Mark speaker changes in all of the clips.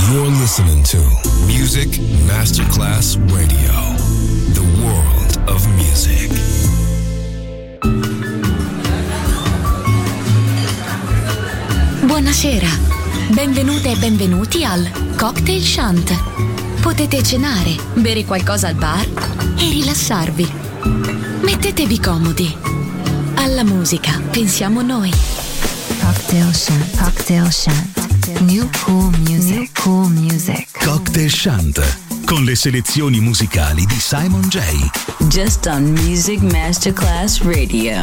Speaker 1: You're listening to Music Masterclass Radio, the world of music.
Speaker 2: Buonasera, benvenute e benvenuti al Cocktail Shant. Potete cenare, bere qualcosa al bar e rilassarvi. Mettetevi comodi. Alla musica pensiamo noi.
Speaker 3: Cocktail Shant. Cocktail Shant. New cool music. New cool music.
Speaker 4: Cocktail Shant, con le selezioni musicali di Simon J.
Speaker 5: Just on Music Masterclass Radio.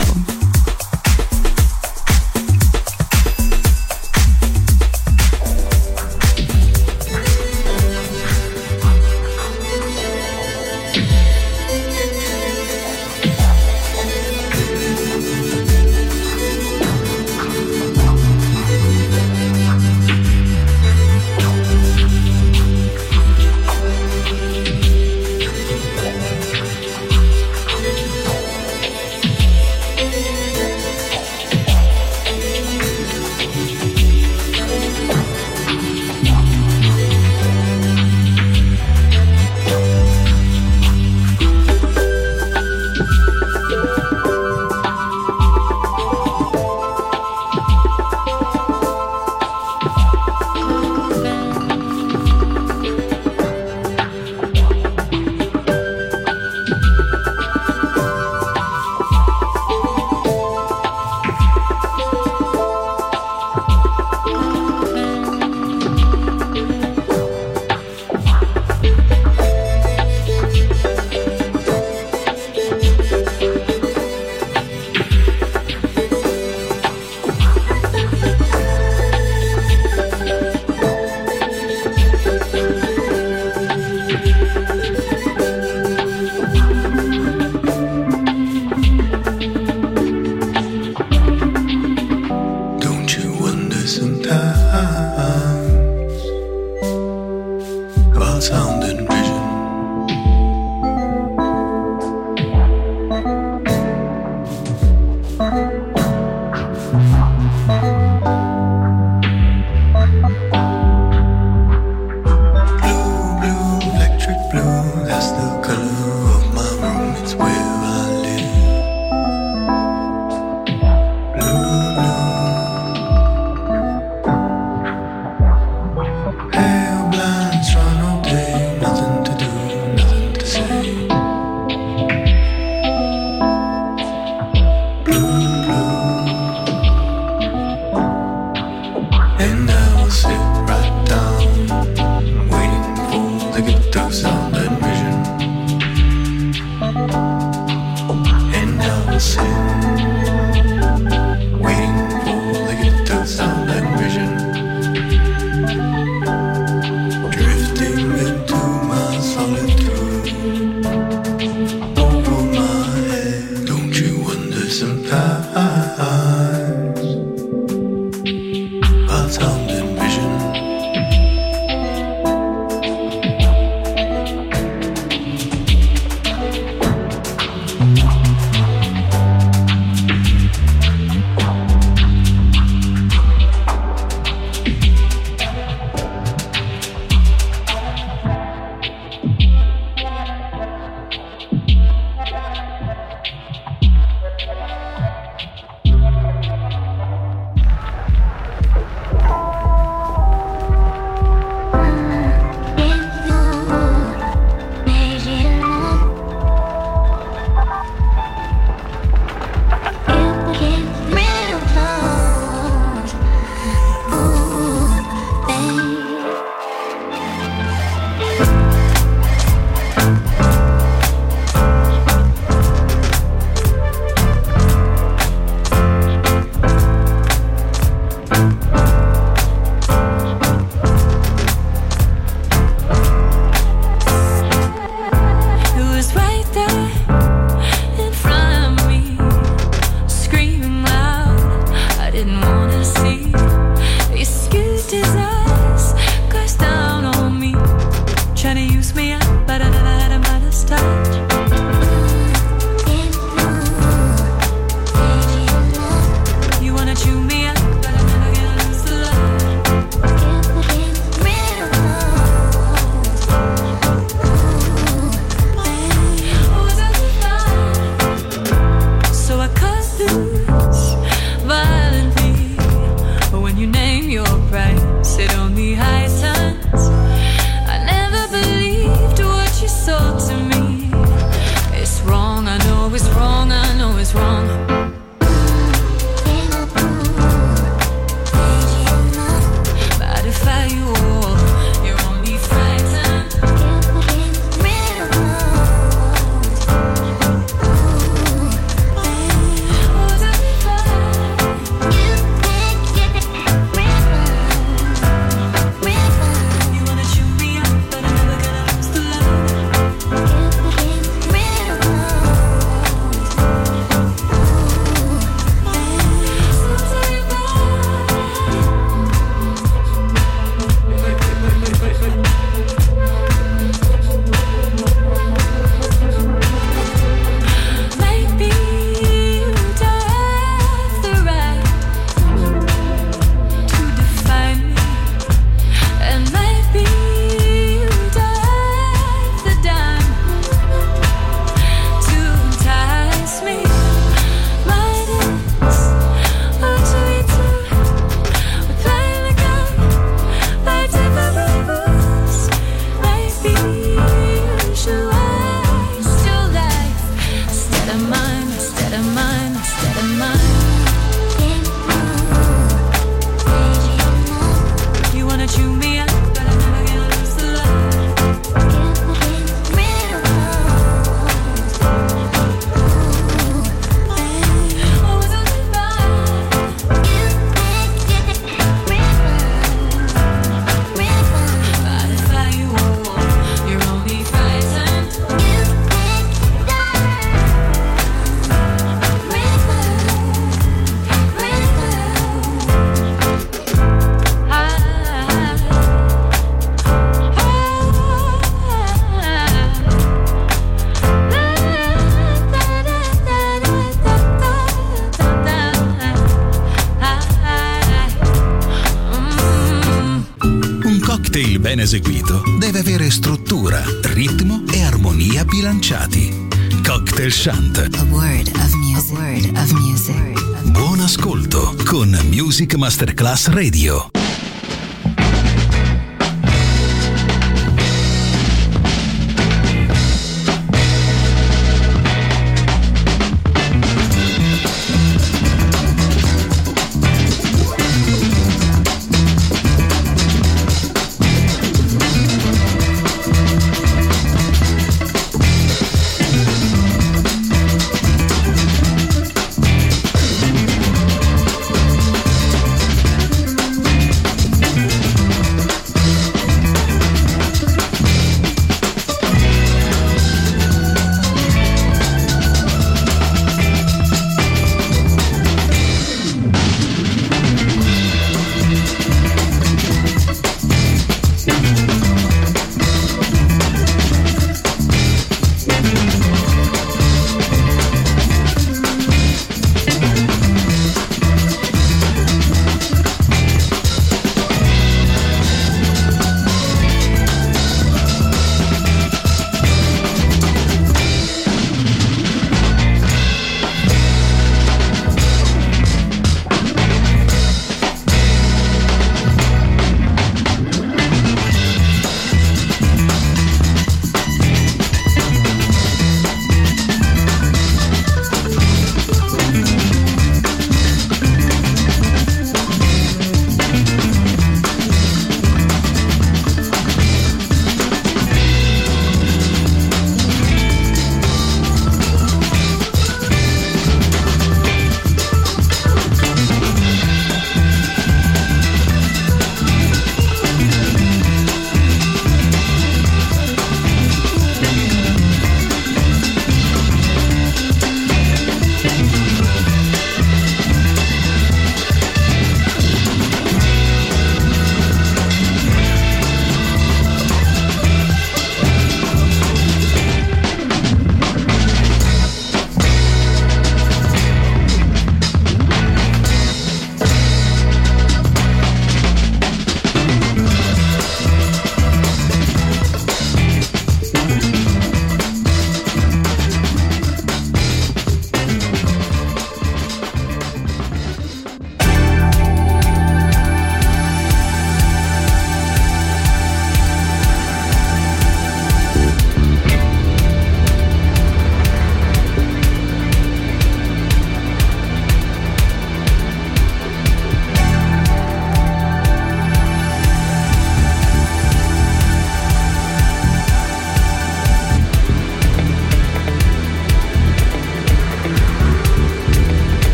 Speaker 4: cocktail ben eseguito deve avere struttura, ritmo e armonia bilanciati. Cocktail Shant.
Speaker 3: A word of music. A word of music.
Speaker 4: Buon ascolto con Music Masterclass Radio.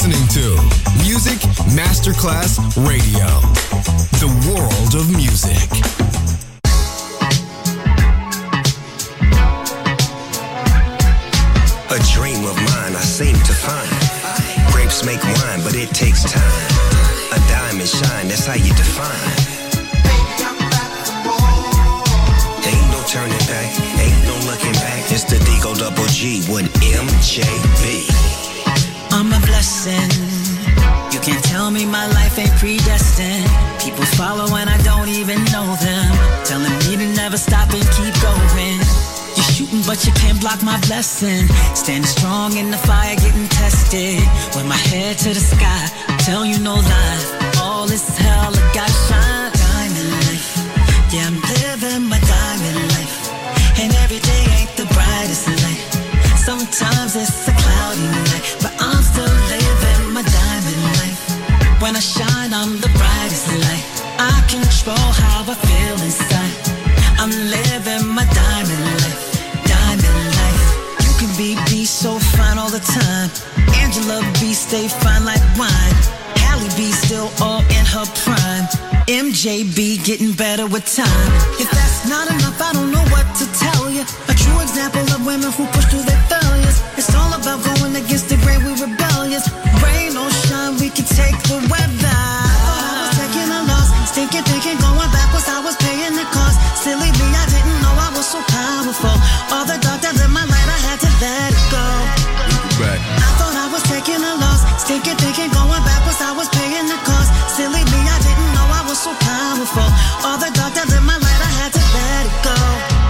Speaker 1: listening to Music Masterclass Radio, the world of music.
Speaker 6: A dream of mine I seem to find. Grapes make wine, but it takes time. A diamond shine, that's how you define. Ain't no turning back, ain't no looking back. It's the Digo Double G with MJB.
Speaker 7: I'm a blessing. You can't tell me my life ain't predestined. People follow and I don't even know them, telling me to never stop and keep going. You're shooting but you can't block my blessing. Standing strong in the fire, getting tested. With my head to the sky, tell you no lie. All is hell, I gotta shine. Diamond life, yeah, I'm living my diamond life. And every day ain't the brightest light. Sometimes it's a cloudy night, but I'm still living my diamond life. When I shine, I'm the brightest light. I control how I feel inside. I'm living my diamond life. Diamond life. You can be so fine all the time. Angela B stay fine like wine. Halle B still all in her prime. MJB getting better with time. If that's not enough, I don't know what to tell you. A true example of women who push through their failures. It's all about going against the grain, we rebellious. Rain or shine, we can take the weather. I was taking a loss, thinking, going backwards, I was paying the cost. Silly me, I didn't know I was so powerful. All the dark that lit my light, I had to let it go.
Speaker 4: Right.
Speaker 7: I thought I was taking a loss, thinking, going backwards, I was paying the cost. Silly me, I didn't know I was so powerful. All the dark that lit my light, I had to let it go.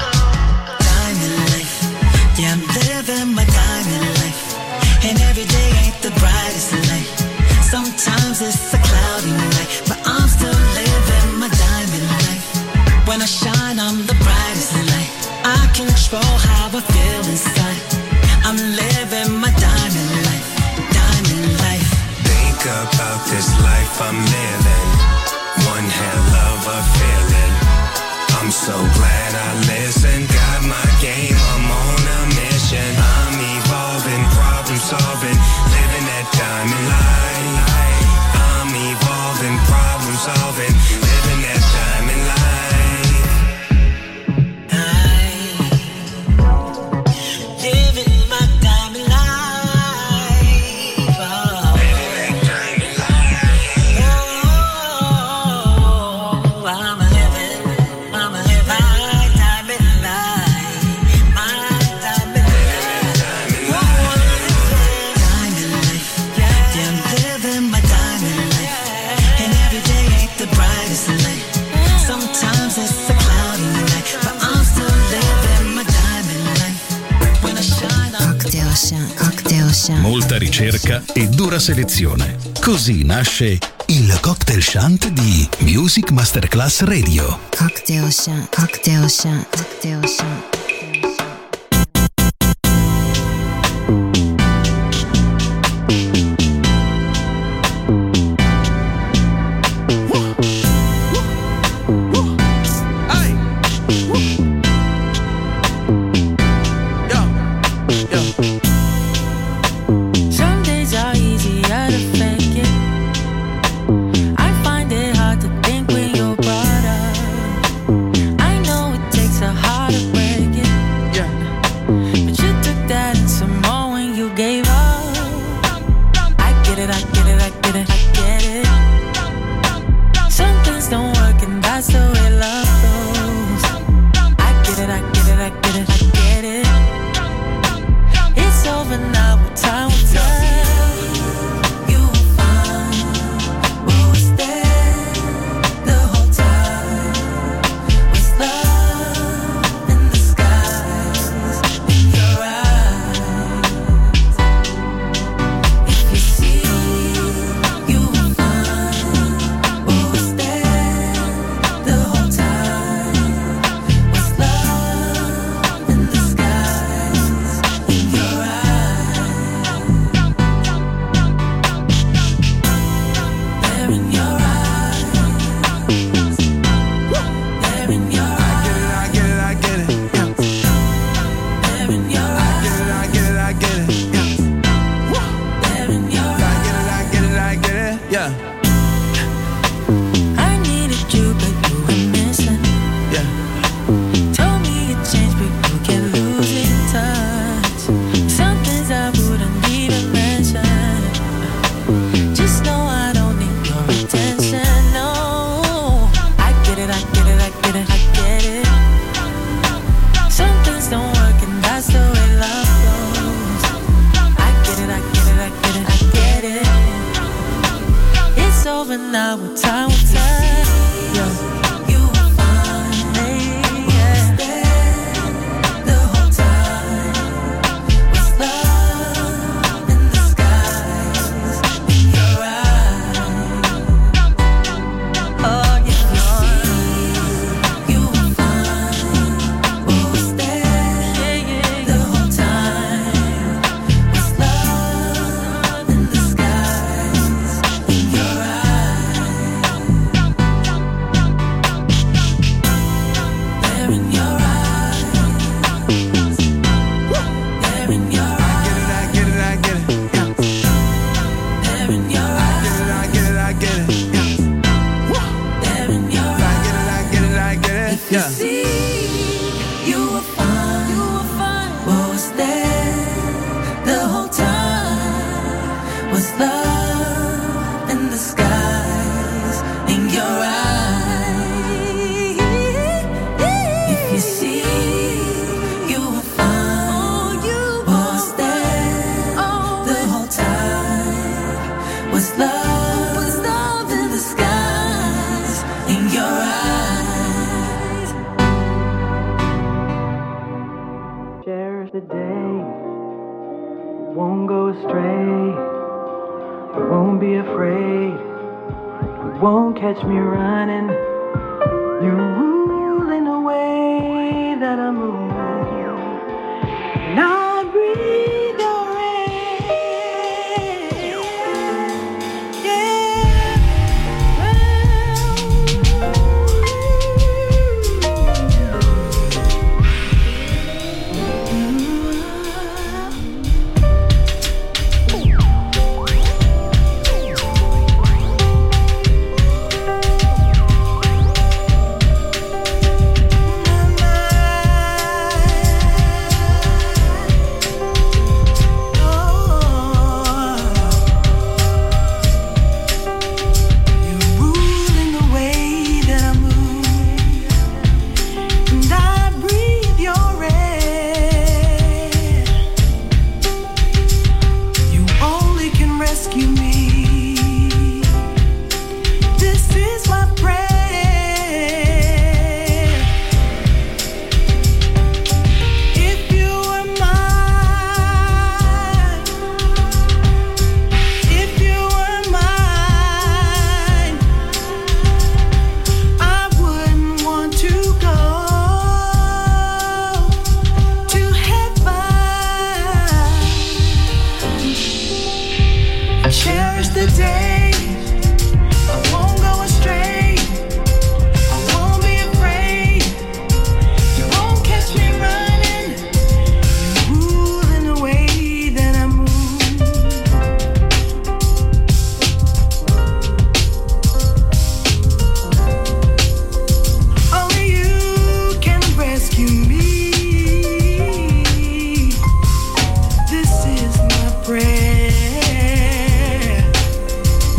Speaker 7: Diamond life, yeah, I'm living my diamond life. And every day ain't the brightest light. Sometimes it's a cloudy night, but I'm still living my diamond life. When I shine, I'm the brightest light. I control how I feel inside. I'm living my diamond life. Diamond life.
Speaker 6: Think about this life I'm living. One hell of a feeling. I'm so glad I listened. Got my game, I'm on a mission. I'm evolving, problem solving, living that diamond life. I'm evolving, problem solving, living that diamond life.
Speaker 7: Living my diamond life. Oh.
Speaker 6: Living that diamond life.
Speaker 7: Oh, I'm living my diamond life. My diamond life. Oh, diamond life. Yeah, I'm living my diamond life. And every day ain't the brightest light. Sometimes it's a cloudy night, but I'm still living my diamond life. When I shine, I'm
Speaker 3: Cocktail Shant. Cocktail Shant.
Speaker 4: Molta ricerca e dura selezione. Così nasce il Cocktail Shant di Music Masterclass Radio.
Speaker 3: Cocktail Shant. Cocktail Shant. Cocktail Shant.
Speaker 8: Some days are easier to fake it. I find it hard to think when you're brought up. I know it takes a heart to break it. But you took that and some more when now with time will tell. You will find the whole time was love in the skies in your eyes. Oh yeah, you will find what was there the whole time was love in the skies in your eyes. There in your eyes. There in your eyes.
Speaker 6: I get it, I get it. Yeah.
Speaker 8: There in your eyes.
Speaker 6: I get it, I get it. Yeah.
Speaker 8: There in your eyes.
Speaker 6: I get it, I get it, I get it.
Speaker 8: If you
Speaker 6: Yeah.
Speaker 8: see, you will find what was there the whole time was love in the skies in your eyes. If you see, you will find what was there the whole time was love in the skies in your eyes.
Speaker 9: Cherish the day, you won't go astray, you won't be afraid, you won't catch me running, you're ruling the way that I move, and I breathe your air, You're ruling the way that I move, and I breathe your air. You only can rescue me. This is my prayer. If you were mine, if you were mine, I wouldn't want to go to heaven. Cherish the day, I won't go astray, I won't be afraid, you won't catch me running, you're ruling the way that I move. Only you can rescue me. This is my prayer.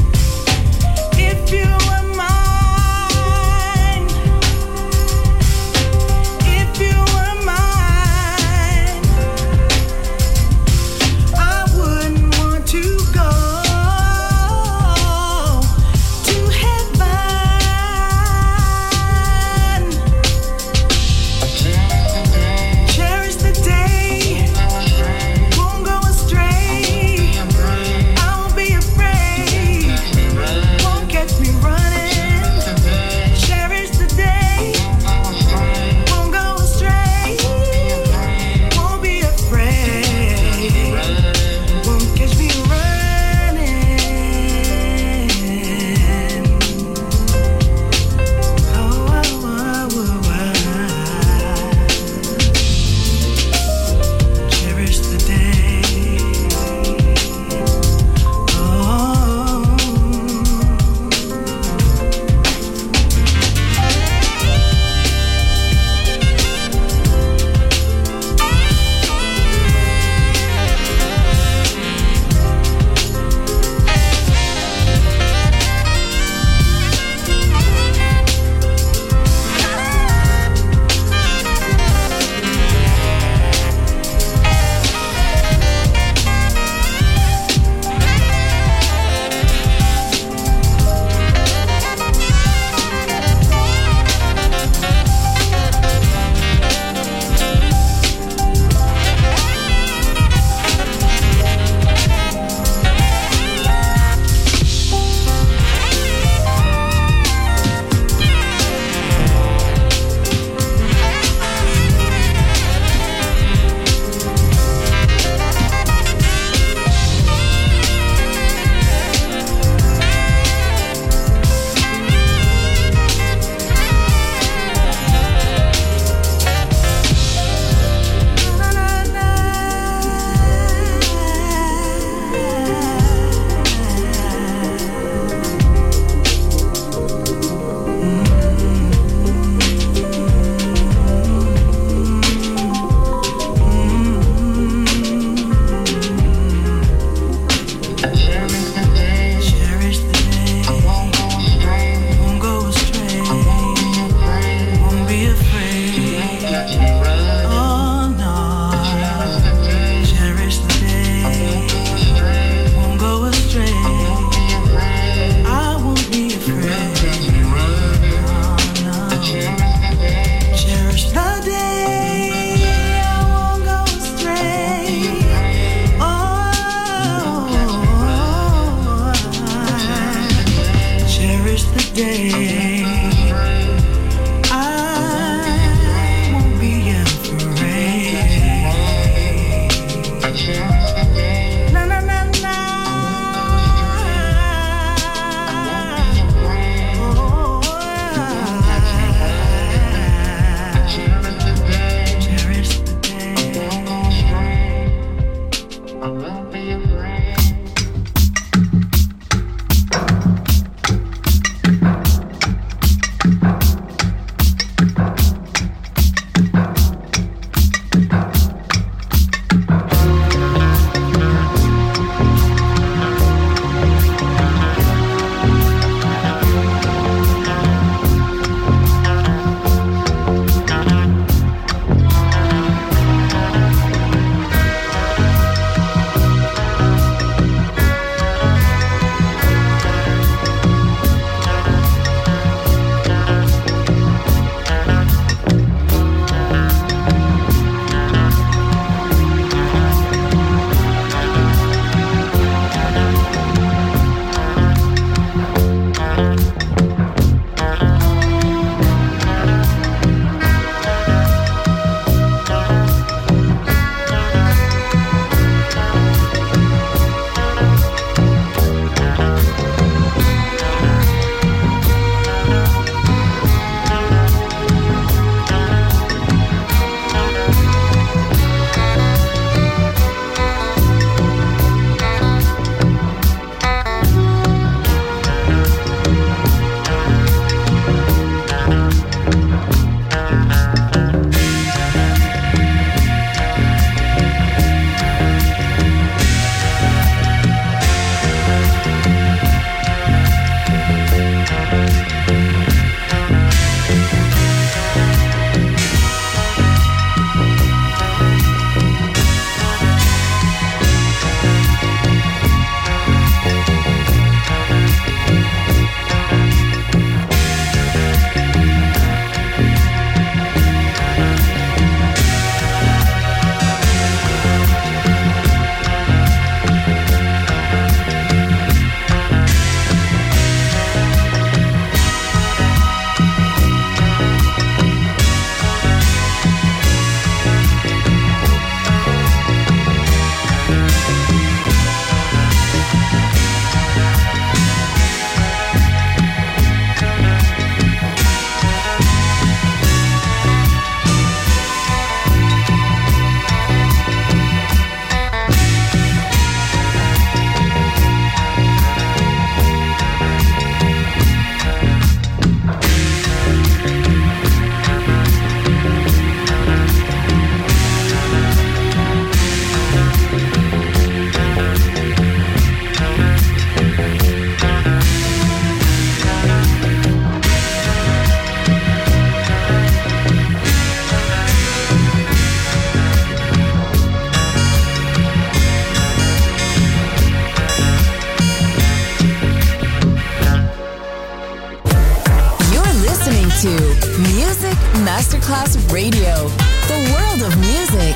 Speaker 10: to Music Masterclass Radio, the world of music.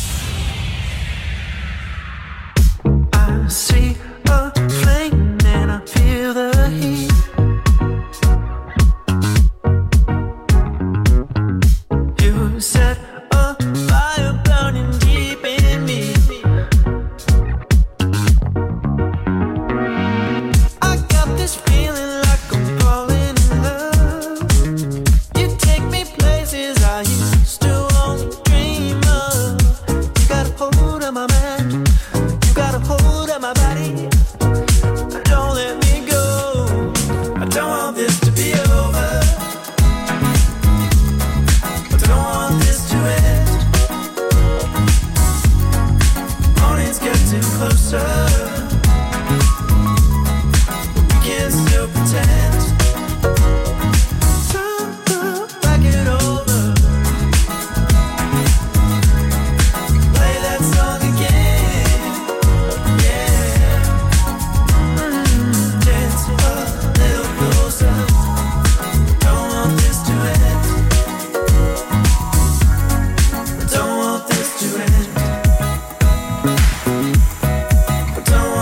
Speaker 9: I see a flame and I feel the heat. You set a fire burning deep in me. I got this feeling like I'm falling in love. You take me places I used to only dream of. You got a hold of my mind, you got a hold of my body. Don't let me go, I don't want this to be over. I don't want this to end. Morning's getting closer, we can still pretend. Talk, back it over. Play that song again. Yeah. Dance a little closer. Don't want this to end. Don't want this to end. Don't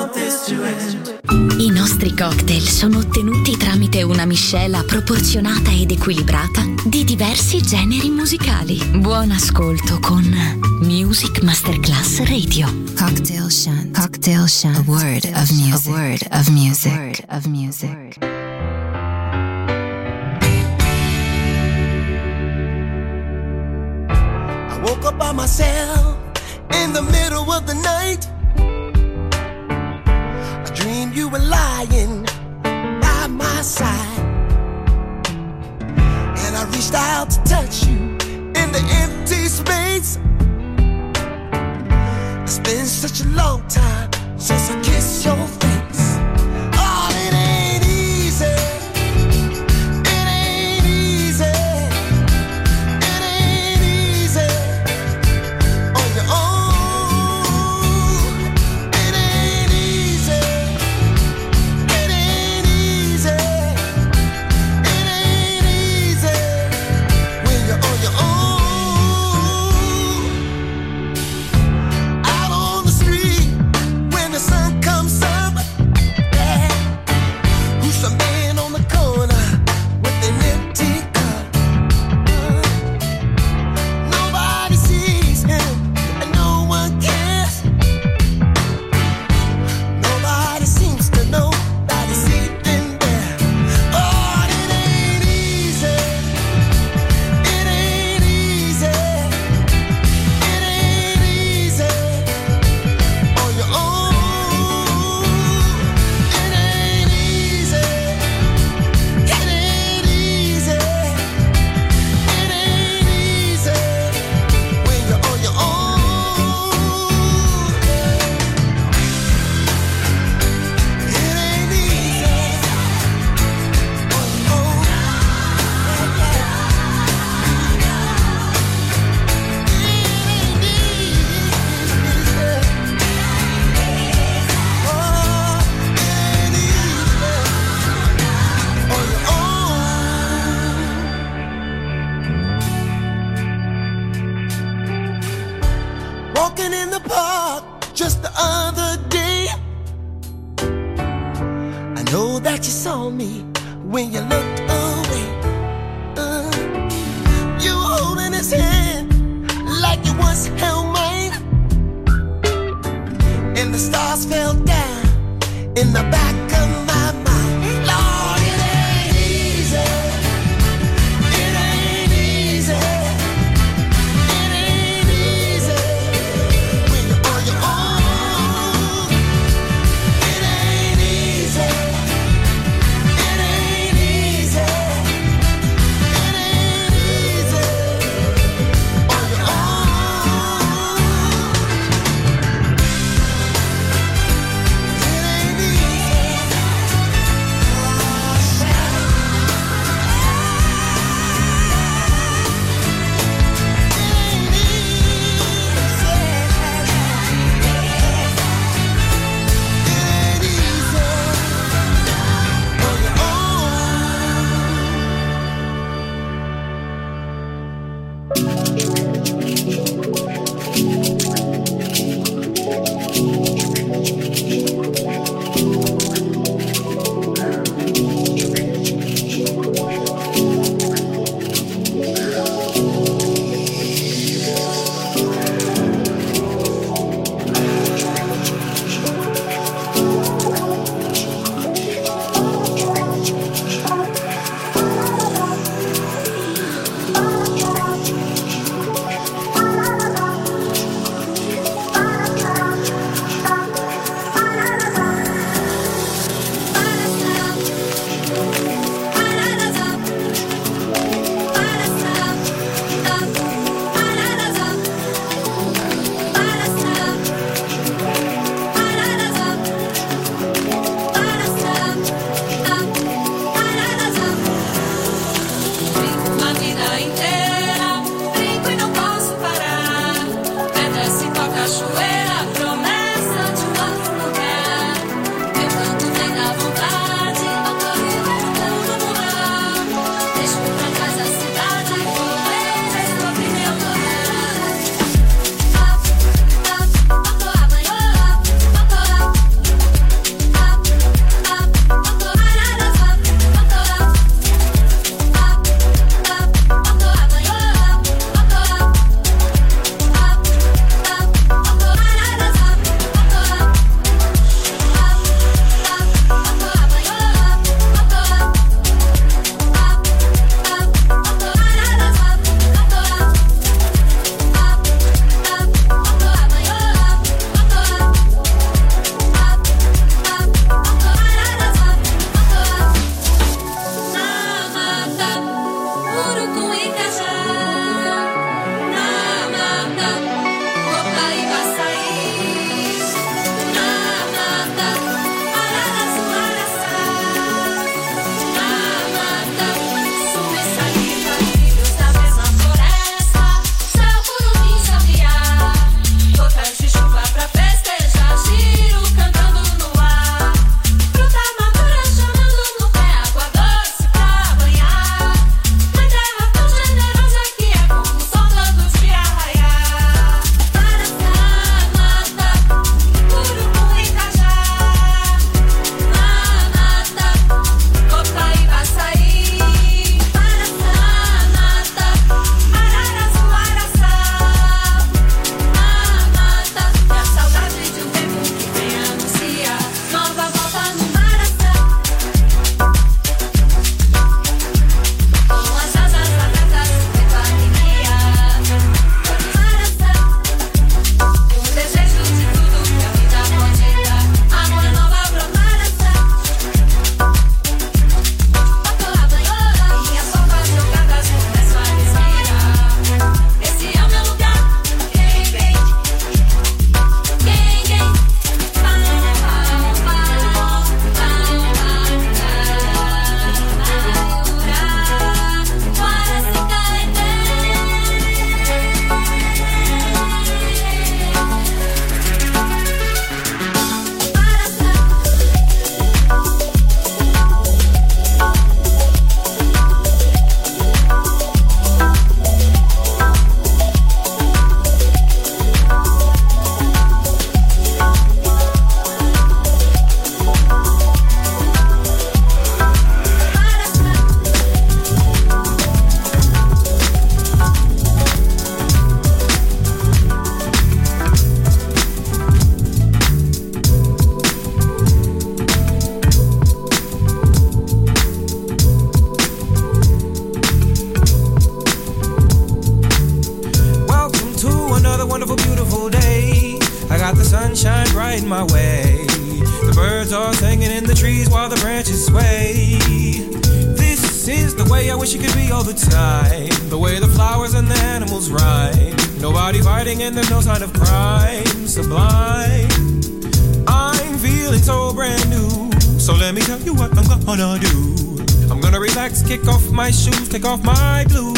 Speaker 9: want this to end.
Speaker 2: I nostri cocktail sono ottenuti tramite una miscela proporzionata ed equilibrata di diversi generi musicali. Buon ascolto con Music Masterclass Radio.
Speaker 3: Cocktail Shant. Cocktail Shant. A word of music. A word of music. A word of music.
Speaker 11: I woke up by myself in the middle of the night. I dreamed you were lying by my side, and I reached out to touch you in the empty space. It's been such a long time since I kissed your face. Oh, it ain't easy. It ain't easy. It ain't easy on your own. It ain't easy. It ain't easy. It ain't easy when you're on your own. Out on the street when the sun comes up, yeah. Who's the man on the corner with an empty cup? Nobody sees him and no one cares. Nobody seems to know that he's sitting there. Oh, it ain't easy. It ain't easy. It ain't easy on your own. It ain't easy. It ain't easy. It ain't easy when you're on your own. It ain't easy on your own. Walking in the park just the other day, I know that you saw me when you looked away. You were holding his hand like you once held mine, and the stars fell down in the back of my mind. Lord, it ain't easy. It ain't easy. It ain't easy when you're on your own. It ain't easy. It ain't easy. It ain't easy on your own. It ain't easy.
Speaker 12: birds are singing in the trees while the branches sway. This is the way I wish it could be all the time. The way the flowers and the animals rhyme. Nobody fighting and there's no sign of crime. Sublime. I'm feeling so brand new. So let me tell you what I'm gonna do. I'm gonna relax, kick off my shoes, take off my blues.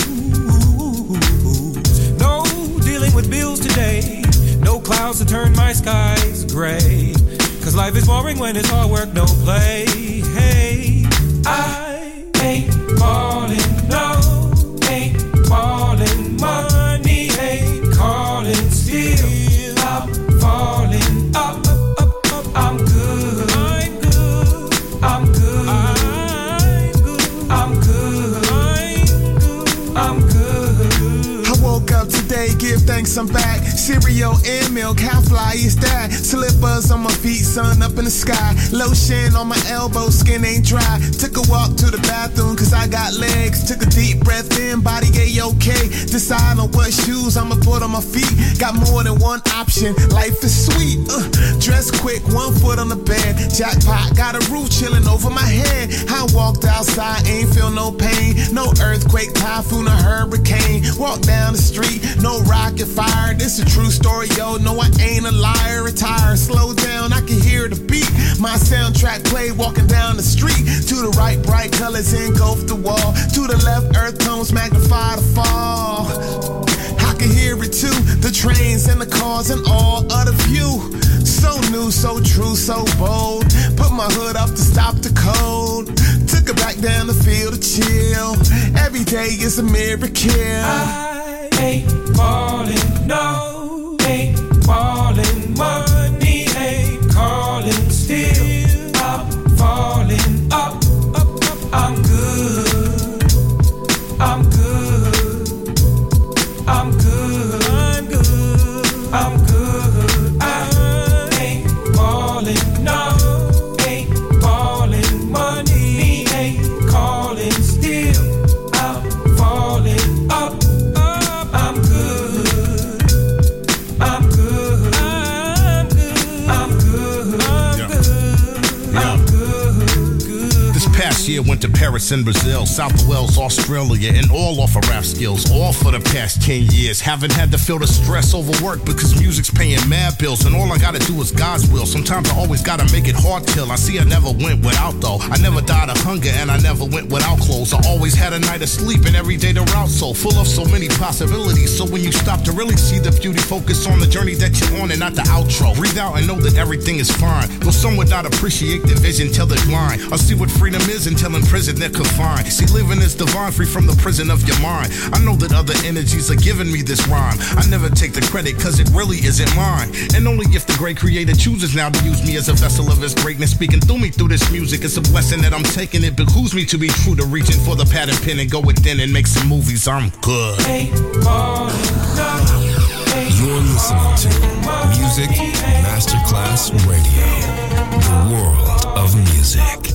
Speaker 12: No dealing with bills today. No clouds to turn my skies gray. Cause life is boring when it's all work, no play. Hey, I ain't falling, no, ain't falling. Money ain't calling, still I'm falling up, up, up. I'm good, I'm good, I'm good, I'm good, I'm good.
Speaker 13: I woke up today, give thanks I'm back. Cereal and milk, how fly is that? Slippers on my feet, sun up in the sky. Lotion on my elbow, skin ain't dry. Took a walk to the bathroom cause I got legs. Took a deep breath in, body okay. Decide on what shoes I'ma put on my feet. Got more than one option, life is sweet. Dress quick, 1 foot on the bed. Jackpot, got a roof chilling over my head. I walked outside, ain't feel no pain. No earthquake, typhoon or hurricane. Walk down the street, no rocket fire. This a true story, yo, no I ain't a liar. Retire, slow down, I can hear the beat. My soundtrack play walking down the street. To the right, bright colors engulf the wall. To the left, earth tones magnify the fall. I can hear it too, the trains and the cars and all of the view. So new, so true, so bold. Put my hood up to stop the cold. Took it back down the field to chill. Every day is a miracle.
Speaker 12: I ain't falling, no, ain't falling. Money ain't calling, still I'm falling up, up, up. I'm good, I'm good, I'm good, I'm good, I'm good. I ain't falling, no, ain't falling. Money ain't calling, still I'm falling up, up. I'm good, I'm good, I'm good, I'm good, I'm good, I'm good.
Speaker 14: This past year went to Paris and Brazil, South Wales, Australia, and all off of rap skills, all for the past 10 years. Haven't had to feel the stress over work because music's paying mad bills, and all I gotta do is God's will. Sometimes I always gotta make it hard till I see I never went without though. I never died of hunger and I never went without clothes. I always had a night of sleep and every day the route so full of so many possibilities. So when you stop to really see the beauty, focus on the journey that you're on and not the outro. Breathe out and know that everything is fine. Though some would not appreciate the vision till they're blind. I'll see what freedom is until in prison they're confined. See, living is divine, free from the prison of your mind. I know that other energies are giving me this rhyme. I never take the credit cause it really isn't mine. And only if the great creator chooses now to use me as a vessel of his greatness, speaking through me through this music. It's a blessing that I'm taking. It behooves me to be true to reaching for the pad and pen and go within and make some movies. I'm good.
Speaker 1: You're listening to Music Masterclass Radio, the world of music.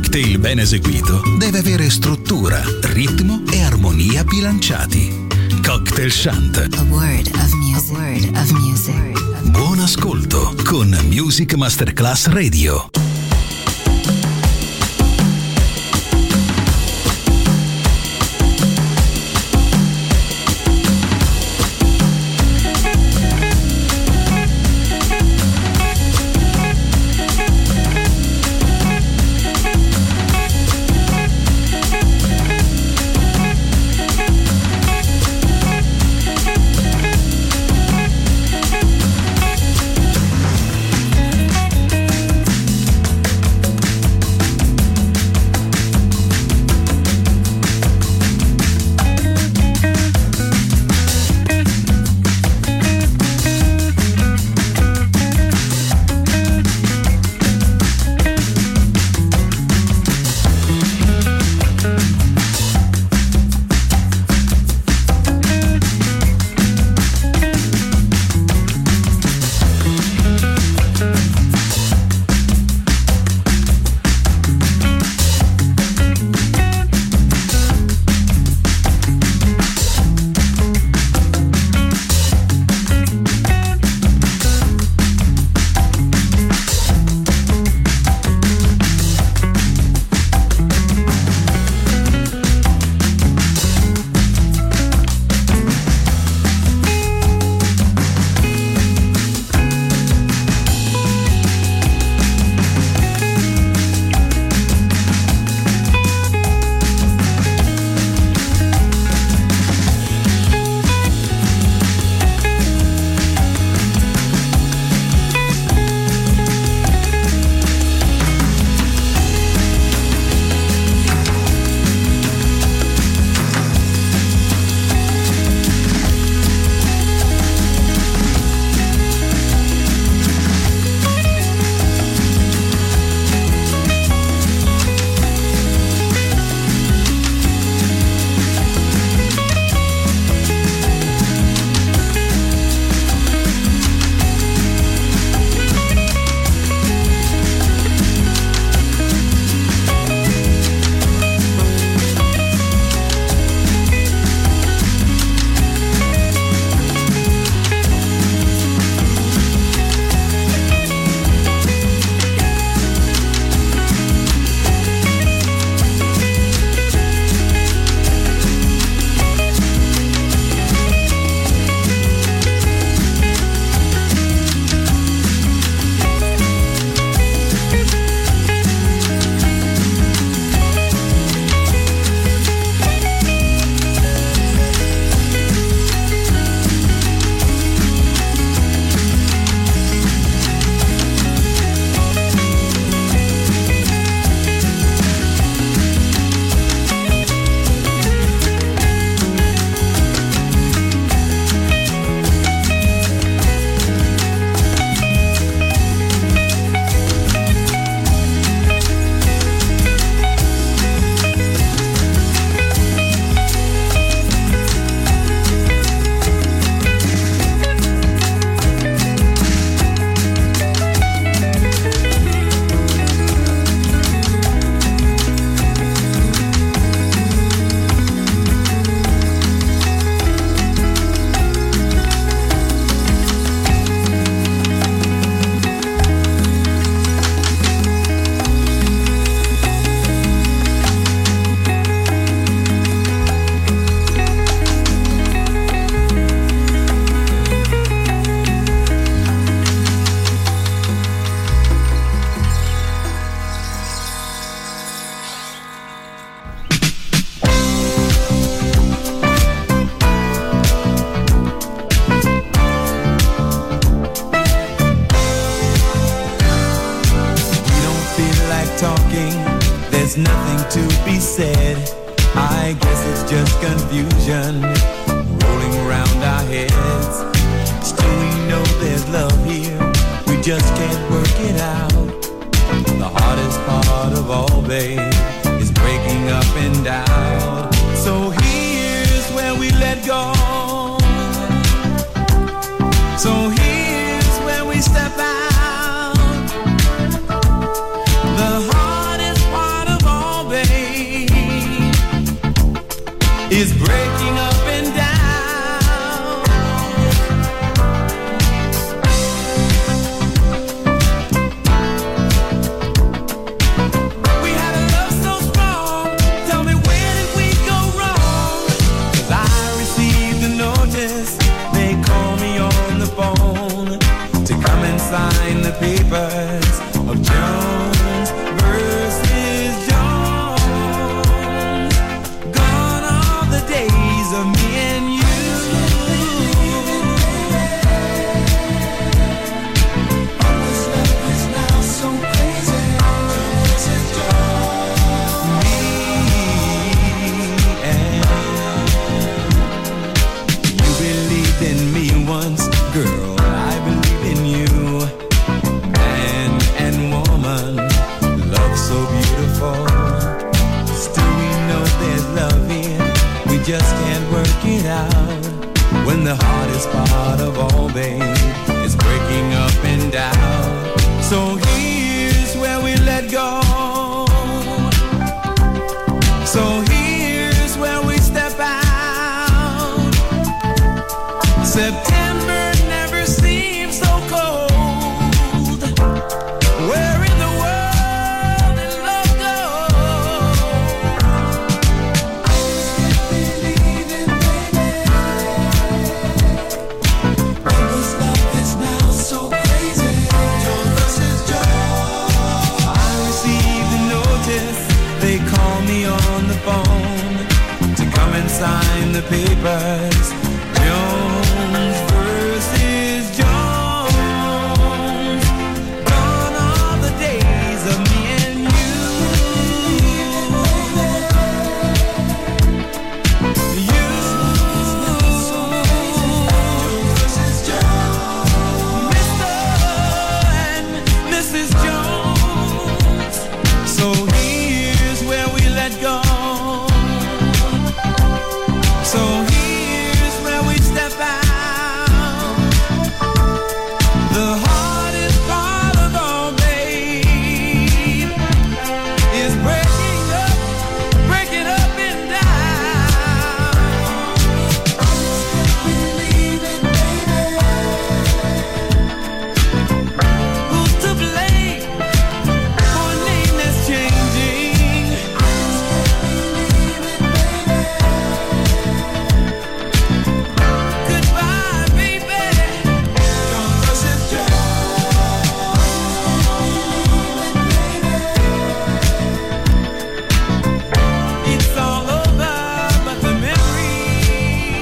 Speaker 4: cocktail ben eseguito deve avere struttura, ritmo e armonia bilanciati. Cocktail Shant.
Speaker 3: A word of music. A word of music.
Speaker 4: Buon ascolto con Music Masterclass Radio.
Speaker 15: to be said. I guess it's just confusion rolling around our heads. Still we know there's love here, we just can't work it out. The hardest part of all, babe, is breaking up and down. So here's where we let go. So here's where we step out. The hardest part of hardest part of all, babe, is breaking up and down. So here's where we let go. So here's where we step out. September never seems so cold. Where in the world did love go? I can't believe it, baby. This love is now so crazy. Joe versus Joe. I received a notice. They call me on the phone to come and sign the papers. Jones versus Jones. Gone are the days of me and you. Jones versus Jones. Mr. and Mrs. Jones. So here's where we let go. So here's where we step out. The hardest part of all, babe, is breaking up and down. Believe it, baby. Who's to blame for a name that's changing? Goodbye, baby. Jones versus Jones. It's all over, but the memory.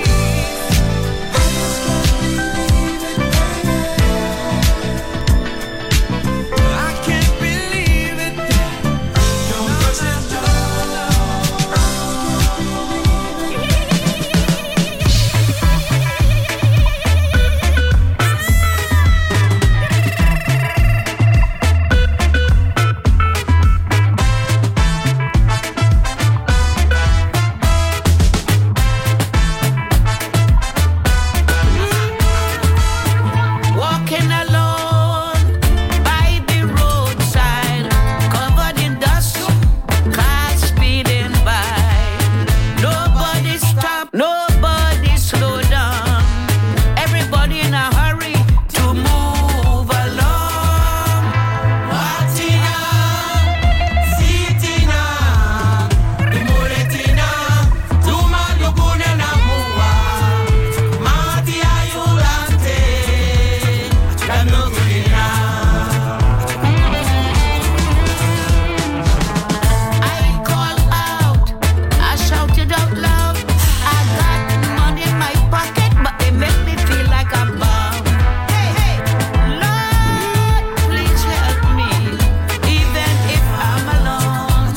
Speaker 15: I can't believe it. Jones versus walking alone by the roadside, covered in dust, cars speeding by. Nobody stop, nobody slow down. Everybody in a hurry to move along. Martina, Sitina, Imuretina, Tuma Lugune Namua, Matia Yulante, Danugina. I call out, I shouted out loud. I got money in my pocket, but they make me feel like I'm bound. Hey, Lord, please help me, even if I'm alone.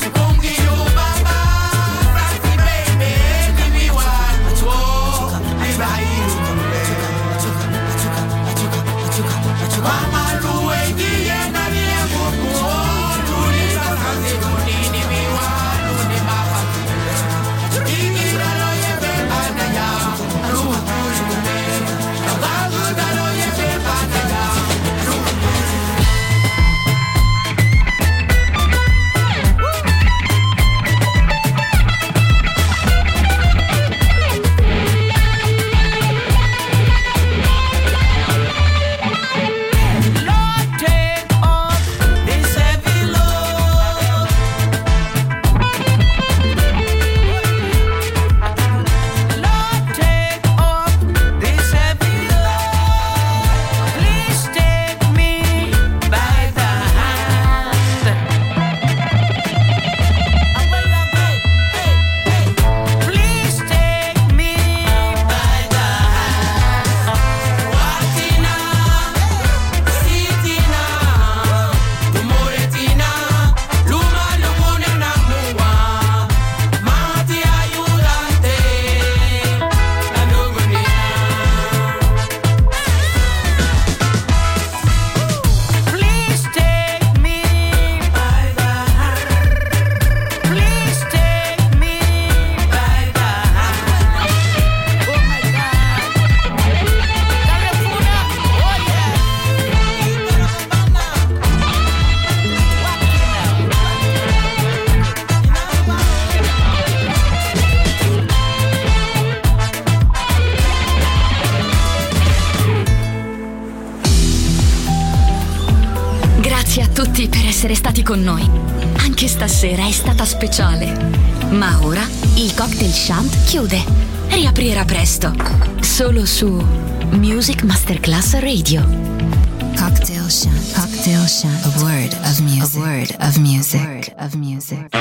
Speaker 2: tutti per essere stati con noi. Anche stasera è stata speciale. Ma ora il Cocktail Shant chiude. Riaprirà presto. Solo su Music Masterclass Radio.
Speaker 3: Cocktail Shant. Cocktail Shant. A word of music. A word of music.